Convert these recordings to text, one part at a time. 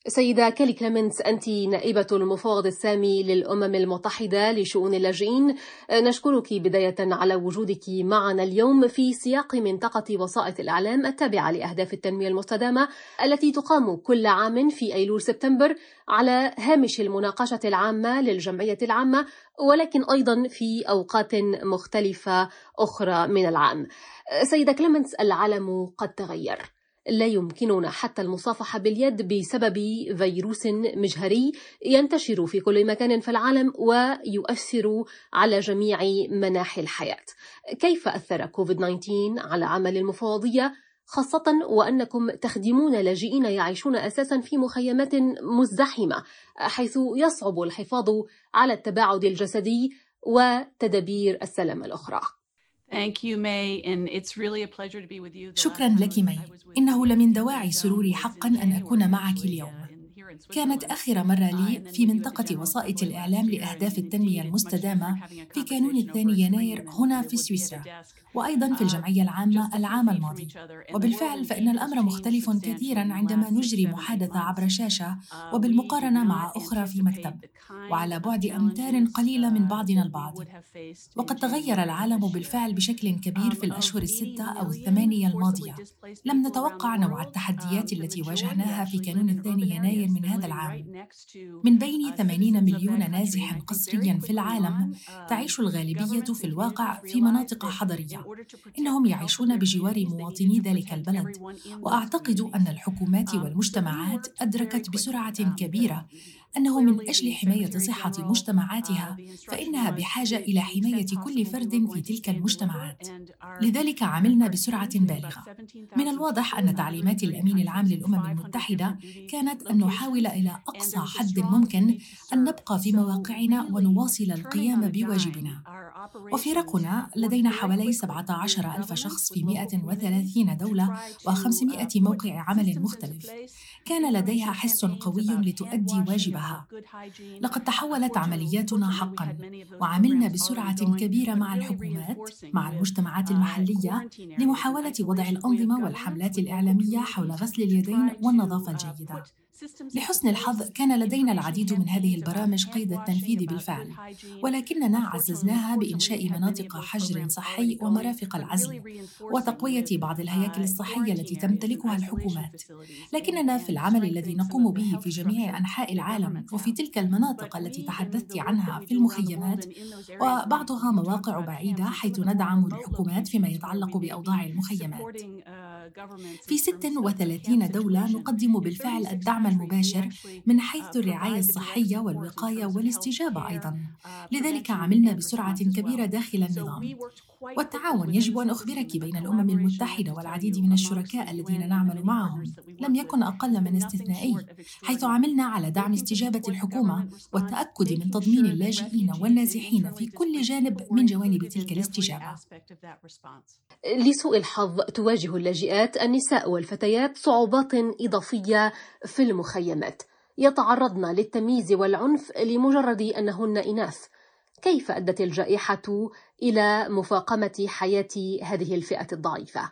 سيدة كيلي كليمنتس، أنت نائبة المفوض السامي للأمم المتحدة لشؤون اللاجئين. نشكرك بداية على وجودك معنا اليوم في سياق منطقة وسائط الإعلام التابعة لأهداف التنمية المستدامة التي تقام كل عام في أيلول سبتمبر على هامش المناقشة العامة للجمعية العامة، ولكن أيضا في أوقات مختلفة أخرى من العام. سيدة كليمنتس، العالم قد تغير، لا يمكننا حتى المصافحة باليد بسبب فيروس مجهري ينتشر في كل مكان في العالم ويؤثر على جميع مناحي الحياة. كيف أثر كوفيد-19 على عمل المفوضية، خاصة وأنكم تخدمون لاجئين يعيشون أساسا في مخيمات مزدحمة، حيث يصعب الحفاظ على التباعد الجسدي وتدابير السلامة الأخرى؟ شكرا لك مي، إنه لمن دواعي سروري حقا أن أكون معك اليوم. كانت آخر مرة لي في منطقة وسائط الإعلام لأهداف التنمية المستدامة في كانون 2 يناير هنا في سويسرا، وأيضاً في الجمعية العامة العام الماضي. وبالفعل فإن الأمر مختلف كثيراً عندما نجري محادثة عبر شاشة وبالمقارنة مع أخرى في مكتب، وعلى بعد أمتار قليلة من بعضنا البعض. وقد تغير العالم بالفعل بشكل كبير في الأشهر ال6 أو ال8 الماضية. لم نتوقع نوع التحديات التي واجهناها في كانون 2 يناير من هذا العام. من بين 80 مليون نازح قسرياً في العالم، تعيش الغالبية في الواقع في مناطق حضرية. إنهم يعيشون بجوار مواطني ذلك البلد، وأعتقد أن الحكومات والمجتمعات أدركت بسرعة كبيرة أنه من أجل حماية صحة مجتمعاتها فإنها بحاجة إلى حماية كل فرد في تلك المجتمعات. لذلك عملنا بسرعة بالغة. من الواضح أن تعليمات الأمين العام للأمم المتحدة كانت أن نحاول إلى أقصى حد ممكن أن نبقى في مواقعنا ونواصل القيام بواجبنا. وفرقنا لدينا حوالي 17,000 شخص في 130 دولة و500 موقع عمل مختلف. كان لديها حس قوي لتؤدي واجبها. لقد تحولت عملياتنا حقاً، وعملنا بسرعة كبيرة مع الحكومات، مع المجتمعات المحلية، لمحاولة وضع الأنظمة والحملات الإعلامية حول غسل اليدين والنظافة الجيدة. لحسن الحظ كان لدينا العديد من هذه البرامج قيد التنفيذ بالفعل، ولكننا عززناها بإنشاء مناطق حجر صحي ومرافق العزل، وتقوية بعض الهياكل الصحية التي تمتلكها الحكومات. لكننا في العمل الذي نقوم به في جميع أنحاء العالم وفي تلك المناطق التي تحدثت عنها في المخيمات، وبعضها مواقع بعيدة حيث ندعم الحكومات فيما يتعلق بأوضاع المخيمات. في 36 دولة نقدم بالفعل الدعم المباشر من حيث الرعاية الصحية والوقاية والاستجابة أيضاً. لذلك عملنا بسرعة كبيرة داخل النظام. والتعاون، يجب أن أخبرك، بين الأمم المتحدة والعديد من الشركاء الذين نعمل معهم لم يكن أقل من استثنائي، حيث عملنا على دعم استجابة الحكومة والتأكد من تضمين اللاجئين والنازحين في كل جانب من جوانب تلك الاستجابة. لسوء الحظ تواجه اللاجئات النساء والفتيات صعوبات إضافية في المخيمات، يتعرضن للتمييز والعنف لمجرد أنهن إناث. كيف أدت الجائحة إلى مفاقمة حياة هذه الفئة الضعيفة؟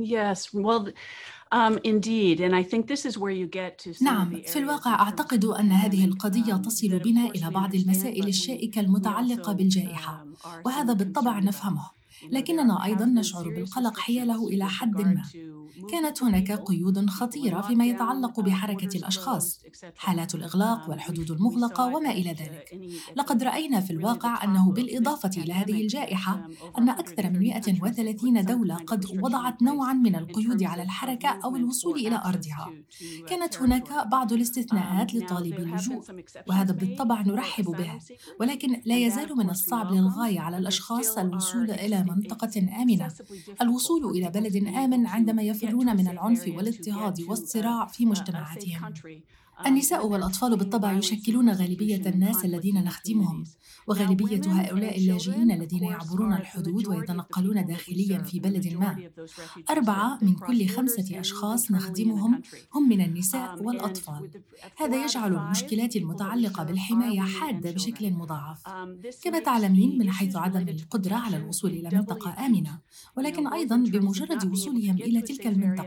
نعم، في الواقع أعتقد أن هذه القضية تصل بنا إلى بعض المسائل الشائكة المتعلقة بالجائحة، وهذا بالطبع نفهمه، لكننا أيضاً نشعر بالقلق حياله إلى حد ما. كانت هناك قيود خطيرة فيما يتعلق بحركة الأشخاص، حالات الإغلاق والحدود المغلقة وما إلى ذلك. لقد رأينا في الواقع أنه بالإضافة إلى هذه الجائحة أن أكثر من 130 دولة قد وضعت نوعاً من القيود على الحركة أو الوصول إلى أرضها. كانت هناك بعض الاستثناءات لطالبي اللجوء، وهذا بالطبع نرحب به، ولكن لا يزال من الصعب للغاية على الأشخاص الوصول إلى منطقة آمنة، الوصول إلى بلد آمن عندما يفرون من العنف والاضطهاد والصراع في مجتمعاتهم. النساء والأطفال بالطبع يشكلون غالبية الناس الذين نخدمهم، وغالبية هؤلاء اللاجئين الذين يعبرون الحدود ويتنقلون داخلياً في بلد ما. 4 من كل 5 أشخاص نخدمهم هم من النساء والأطفال. هذا يجعل المشكلات المتعلقة بالحماية حادة بشكل مضاعف، كما تعلمين، من حيث عدم القدرة على الوصول إلى منطقة آمنة، ولكن أيضاً بمجرد وصولهم إلى تلك المنطقة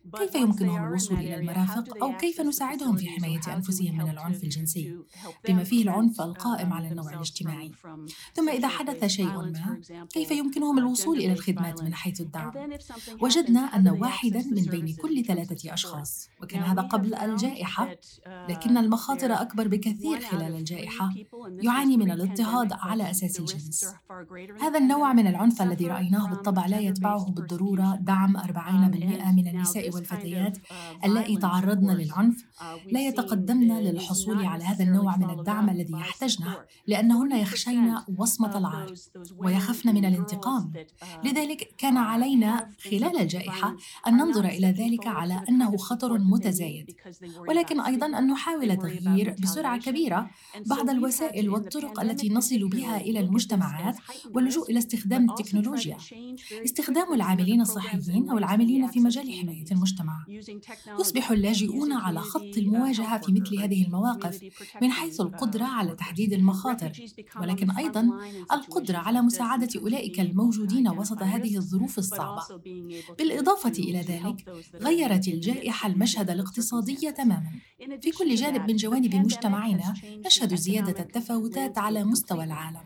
كيف يمكنهم الوصول إلى المرافق أو كيف نساعدهم في حماية أنفسهم من العنف الجنسي بما فيه العنف القائم على النوع الاجتماعي؟ ثم إذا حدث شيء ما، كيف يمكنهم الوصول إلى الخدمات من حيث الدعم؟ وجدنا أن واحداً من بين كل 3 أشخاص، وكان هذا قبل الجائحة، لكن المخاطر أكبر بكثير خلال الجائحة، يعاني من الاضطهاد على أساس الجنس. هذا النوع من العنف الذي رأيناه بالطبع لا يتبعه بالضرورة دعم 40% من النساء والفتيات اللائي تعرضن للعنف لا يتقدمن للحصول على هذا النوع من الدعم الذي يحتاجنه، لأنهن يخشين وصمة العار ويخفن من الانتقام. لذلك كان علينا خلال الجائحة أن ننظر إلى ذلك على أنه خطر متزايد، ولكن أيضاً أن نحاول تغيير بسرعة كبيرة بعض الوسائل والطرق التي نصل بها إلى المجتمعات واللجوء إلى استخدام التكنولوجيا. استخدام العاملين الصحيين أو العاملين في مجال حماية المجتمع. يصبح اللاجئون على خط المواجهة في مثل هذه المواقف من حيث القدرة على تحديد المخاطر، ولكن أيضاً القدرة على مساعدة أولئك الموجودين وسط هذه الظروف الصعبة. بالإضافة إلى ذلك، غيرت الجائحة المشهد الاقتصادي تماماً. في كل جانب من جوانب مجتمعنا نشهد زيادة التفاوتات على مستوى العالم.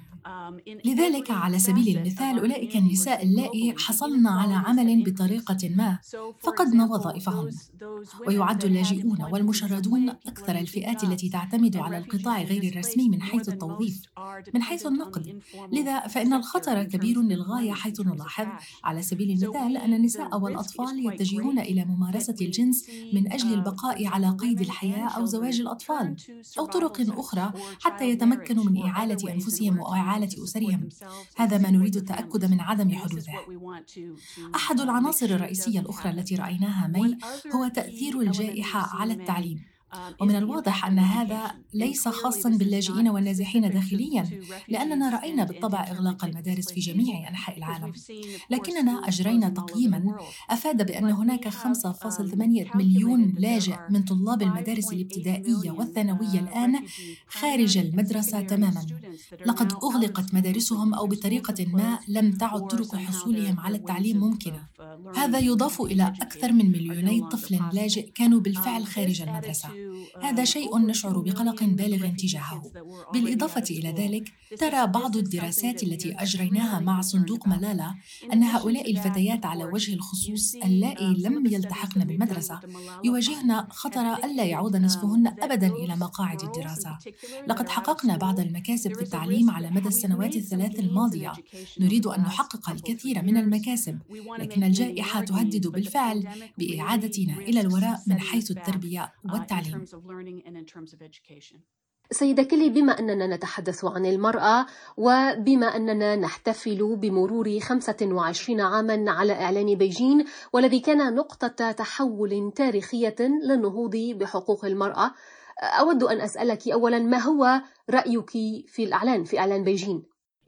لذلك على سبيل المثال، أولئك النساء اللائي حصلن على عمل بطريقة ما فقدن وظائفهن، ويعد اللاجئون والمشردون أكثر الفئات التي تعتمد على القطاع غير الرسمي من حيث التوظيف، من حيث النقد. لذا فإن الخطر كبير للغاية، حيث نلاحظ على سبيل المثال أن النساء والأطفال يتجهون إلى ممارسة الجنس من أجل البقاء على قيد الحياة أو زواج الأطفال أو طرق أخرى حتى يتمكنوا من إعالة أنفسهم وإعالة أسرهم. هذا ما نريد التأكد من عدم حدوثه. أحد العناصر الرئيسية الأخرى التي رأيناها هو تأثير الجائحة على التعليم، ومن الواضح أن هذا ليس خاصاً باللاجئين والنازحين داخلياً، لأننا رأينا بالطبع إغلاق المدارس في جميع أنحاء العالم، لكننا أجرينا تقييماً أفاد بأن هناك 5.8 مليون لاجئ من طلاب المدارس الابتدائية والثانوية الآن خارج المدرسة تماماً. لقد أغلقت مدارسهم أو بطريقة ما لم تعد طرق حصولهم على التعليم ممكنة. هذا يضاف إلى أكثر من 2 طفل لاجئ كانوا بالفعل خارج المدرسة. هذا شيء نشعر بقلق بالغ تجاهه. بالإضافة إلى ذلك، ترى بعض الدراسات التي أجريناها مع صندوق ملالة أن هؤلاء الفتيات على وجه الخصوص اللائي لم يلتحقن بالمدرسة يواجهن خطر ألا يعود نصفهن أبداً إلى مقاعد الدراسة. لقد حققنا بعض المكاسب في التعليم على مدى السنوات الثلاث الماضية. نريد أن نحقق الكثير من المكاسب، لكن الجائحة تهدد بالفعل بإعادتنا إلى الوراء من حيث التربية والتعليم. سيدة كيلي، بما أننا نتحدث عن المرأة وبما أننا نحتفل بمرور 25 عاماً على إعلان بيجين والذي كان نقطة تحول تاريخية للنهوض بحقوق المرأة، أود أن أسألك أولاً ما هو رأيك في إعلان بيجين؟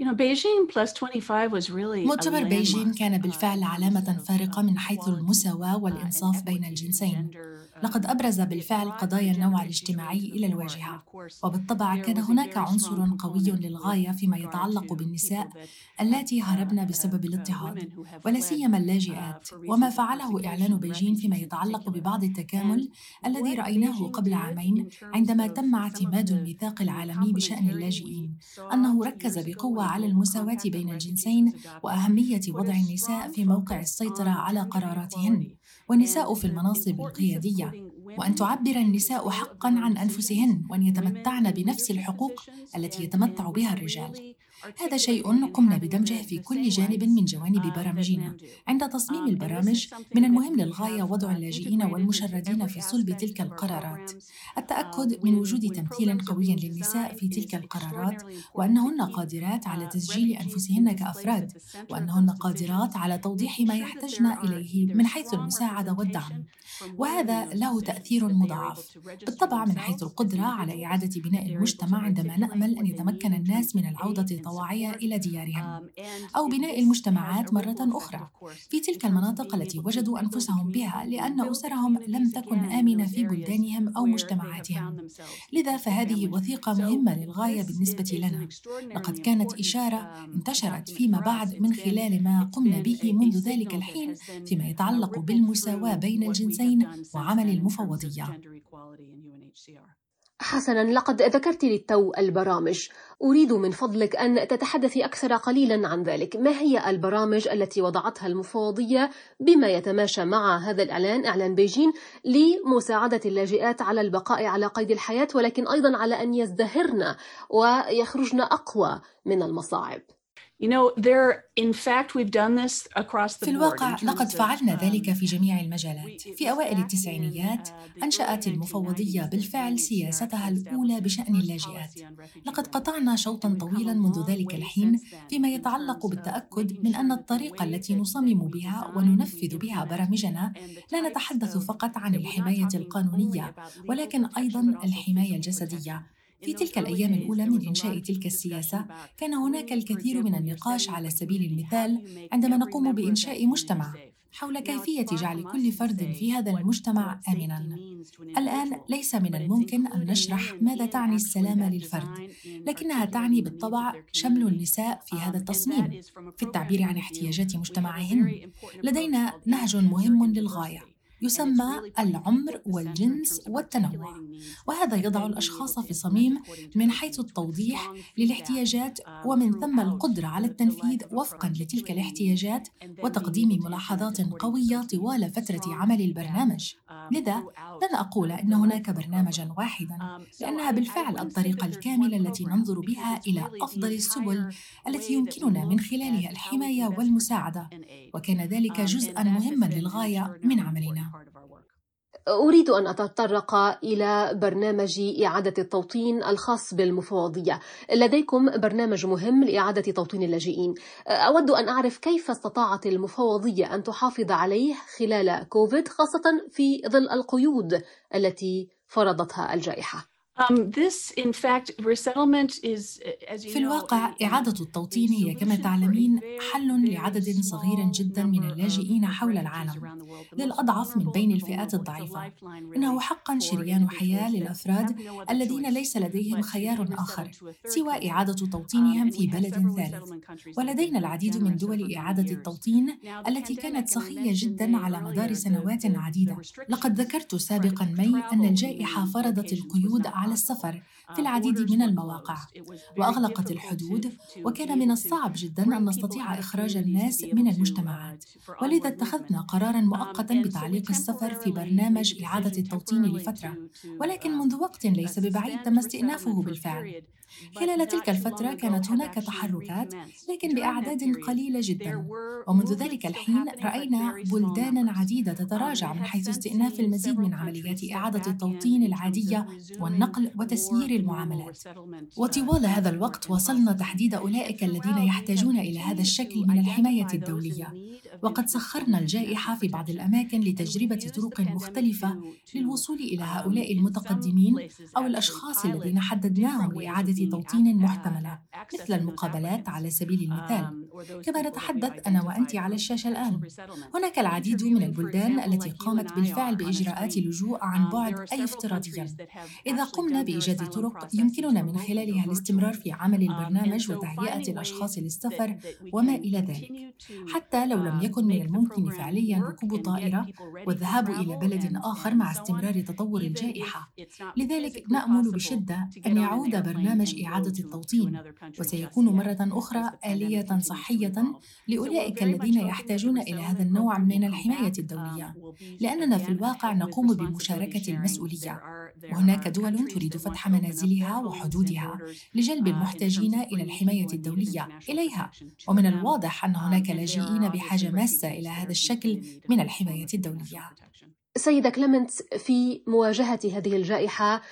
مؤتمر بيجين كان بالفعل علامة فارقة من حيث المساواة والإنصاف بين الجنسين. لقد أبرز بالفعل قضايا النوع الاجتماعي إلى الواجهة، وبالطبع كان هناك عنصر قوي للغاية فيما يتعلق بالنساء اللاتي هربن بسبب الاضطهاد، ولا سيما اللاجئات، وما فعله إعلان بيجين فيما يتعلق ببعض التكامل الذي رأيناه قبل عامين عندما تم اعتماد الميثاق العالمي بشأن اللاجئين، أنه ركز بقوة على المساواة بين الجنسين وأهمية وضع النساء في موقع السيطرة على قراراتهن، والنساء في المناصب القيادية، وأن تعبر النساء حقاً عن أنفسهن وأن يتمتعن بنفس الحقوق التي يتمتع بها الرجال. هذا شيء قمنا بدمجه في كل جانب من جوانب برامجنا. عند تصميم البرامج من المهم للغاية وضع اللاجئين والمشردين في صلب تلك القرارات، التأكد من وجود تمثيل قوي للنساء في تلك القرارات، وأنهن قادرات على تسجيل أنفسهن كأفراد، وأنهن قادرات على توضيح ما يحتاجن إليه من حيث المساعدة والدعم. وهذا له تأثير مضاعف بالطبع من حيث القدرة على إعادة بناء المجتمع، عندما نأمل أن يتمكن الناس من العودة الطواعية إلى ديارهم، أو بناء المجتمعات مرة أخرى في تلك المناطق التي وجدوا أنفسهم بها لأن أسرهم لم تكن آمنة في بلدانهم أو مجتمعاتهم. لذا فهذه وثيقة مهمة للغاية بالنسبة لنا، لقد كانت إشارة انتشرت فيما بعد من خلال ما قمنا به منذ ذلك الحين فيما يتعلق بالمساواة بين الجنسين وعمل المفوضية. حسناً، لقد ذكرت للتو البرامج. أريد من فضلك أن تتحدثي أكثر قليلاً عن ذلك. ما هي البرامج التي وضعتها المفوضية بما يتماشى مع هذا الإعلان، إعلان بيجين، لمساعدة اللاجئات على البقاء على قيد الحياة، ولكن أيضاً على أن يزدهرن ويخرجن أقوى من المصاعب؟ في الواقع لقد فعلنا ذلك في جميع المجالات. في أوائل التسعينيات أنشأت المفوضية بالفعل سياستها الأولى بشأن اللاجئات. لقد قطعنا شوطاً طويلاً منذ ذلك الحين فيما يتعلق بالتأكد من أن الطريقة التي نصمم بها وننفذ بها برامجنا لا نتحدث فقط عن الحماية القانونية ولكن أيضاً الحماية الجسدية. في تلك الأيام الأولى من إنشاء تلك السياسة كان هناك الكثير من النقاش على سبيل المثال عندما نقوم بإنشاء مجتمع حول كيفية جعل كل فرد في هذا المجتمع آمناً. الآن ليس من الممكن أن نشرح ماذا تعني السلامة للفرد، لكنها تعني بالطبع شمل النساء في هذا التصميم في التعبير عن احتياجات مجتمعهن. لدينا نهج مهم للغاية يسمى العمر والجنس والتنوع، وهذا يضع الأشخاص في صميم من حيث التوضيح للاحتياجات ومن ثم القدرة على التنفيذ وفقاً لتلك الاحتياجات وتقديم ملاحظات قوية طوال فترة عمل البرنامج. لذا لن أقول إن هناك برنامجاً واحداً، لأنها بالفعل الطريقة الكاملة التي ننظر بها إلى أفضل السبل التي يمكننا من خلالها الحماية والمساعدة، وكان ذلك جزءاً مهماً للغاية من عملنا. أريد أن أتطرق إلى برنامج إعادة التوطين الخاص بالمفوضية. لديكم برنامج مهم لإعادة توطين اللاجئين. أود أن أعرف كيف استطاعت المفوضية أن تحافظ عليه خلال كوفيد، خاصة في ظل القيود التي فرضتها الجائحة. في الواقع إعادة التوطين هي كما تعلمين حل لعدد صغير جدا من اللاجئين حول العالم، للأضعف من بين الفئات الضعيفة. إنه حقا شريان حياة للأفراد الذين ليس لديهم خيار آخر سوى إعادة توطينهم في بلد ثالث. ولدينا العديد من دول إعادة التوطين التي كانت سخية جدا على مدار سنوات عديدة. لقد ذكرت سابقا مي أن الجائحة فرضت القيود على السفر في العديد من المواقع وأغلقت الحدود، وكان من الصعب جدا أن نستطيع إخراج الناس من المجتمعات، ولذا اتخذنا قراراً مؤقتاً بتعليق السفر في برنامج إعادة التوطين لفترة، ولكن منذ وقت ليس ببعيد تم استئنافه بالفعل. خلال تلك الفترة كانت هناك تحركات لكن بأعداد قليلة جدا، ومنذ ذلك الحين رأينا بلدانا عديدة تتراجع من حيث استئناف المزيد من عمليات إعادة التوطين العادية والنقل وتسيير المعاملات. وطوال هذا الوقت وصلنا تحديد أولئك الذين يحتاجون إلى هذا الشكل من الحماية الدولية، وقد سخرنا الجائحة في بعض الأماكن لتجربة طرق مختلفة للوصول إلى هؤلاء المتقدمين أو الأشخاص الذين حددناهم لإعادة توطين محتملة، مثل المقابلات على سبيل المثال. كما نتحدث أنا وأنت على الشاشة الآن، هناك العديد من البلدان التي قامت بالفعل بإجراءات لجوء عن بعد أي افتراضياً. إذا قمنا بإيجاد طرق يمكننا من خلالها الاستمرار في عمل البرنامج وتهيئة الأشخاص للسفر وما إلى ذلك، حتى لو لم يكن من الممكن فعلياً ركوب طائرة والذهاب إلى بلد آخر مع استمرار تطور الجائحة. لذلك نأمل بشدة أن يعود برنامج إعادة التوطين، وسيكون مرة أخرى آلية صحية لأولئك الذين يحتاجون إلى هذا النوع من الحماية الدولية، لأننا في الواقع نقوم بمشاركة المسؤولية، وهناك دول تريد فتح منازلها وحدودها لجلب المحتاجين إلى الحماية الدولية إليها، ومن الواضح أن هناك لاجئين بحاجة ماسة إلى هذا الشكل من الحماية الدولية. سيدة كليمنتس، في مواجهة هذه الجائحة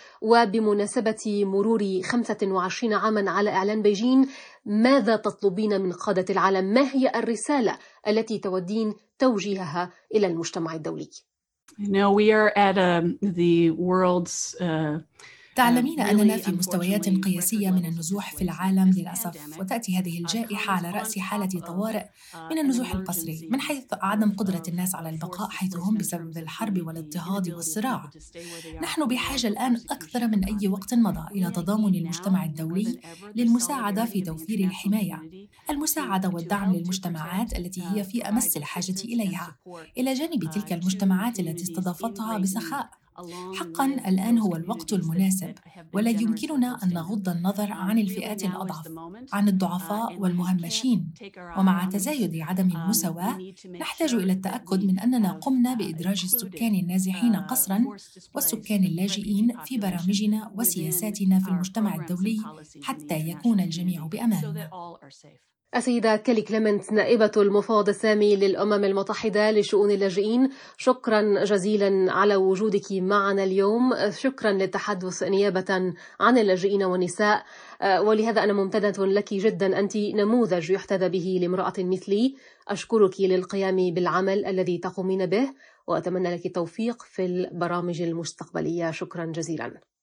وبمناسبة مرور 25 عاماً على إعلان بيجين، ماذا تطلبين من قادة العالم؟ ما هي الرسالة التي تودين توجيهها إلى المجتمع الدولي؟ تعلمين أننا في مستويات قياسية من النزوح في العالم للأسف، وتأتي هذه الجائحة على رأس حالة طوارئ من النزوح القسري من حيث عدم قدرة الناس على البقاء حيث هم بسبب الحرب والاضطهاد والصراع. نحن بحاجة الآن أكثر من أي وقت مضى إلى تضامن المجتمع الدولي للمساعدة في توفير الحماية، المساعدة والدعم للمجتمعات التي هي في أمس الحاجة إليها، إلى جانب تلك المجتمعات التي استضافتها بسخاء. حقاً الآن هو الوقت المناسب، ولا يمكننا أن نغض النظر عن الفئات الأضعف، عن الضعفاء والمهمشين. ومع تزايد عدم المساواة، نحتاج إلى التأكد من أننا قمنا بإدراج السكان النازحين قسراً والسكان اللاجئين في برامجنا وسياساتنا في المجتمع الدولي حتى يكون الجميع بأمان. السيدة كيلي كليمنت، نائبة المفوض السامي للأمم المتحدة لشؤون اللاجئين، شكرا جزيلا على وجودك معنا اليوم. شكرا للتحدث نيابة عن اللاجئين والنساء، ولهذا أنا ممتنة لك جدا. أنت نموذج يحتذى به لامرأة مثلي. أشكرك للقيام بالعمل الذي تقومين به، وأتمنى لك التوفيق في البرامج المستقبلية. شكرا جزيلا.